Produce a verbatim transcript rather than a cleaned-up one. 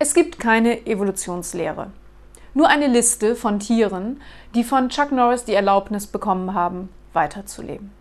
Es gibt keine Evolutionslehre, nur eine Liste von Tieren, die von Chuck Norris die Erlaubnis bekommen haben, weiterzuleben.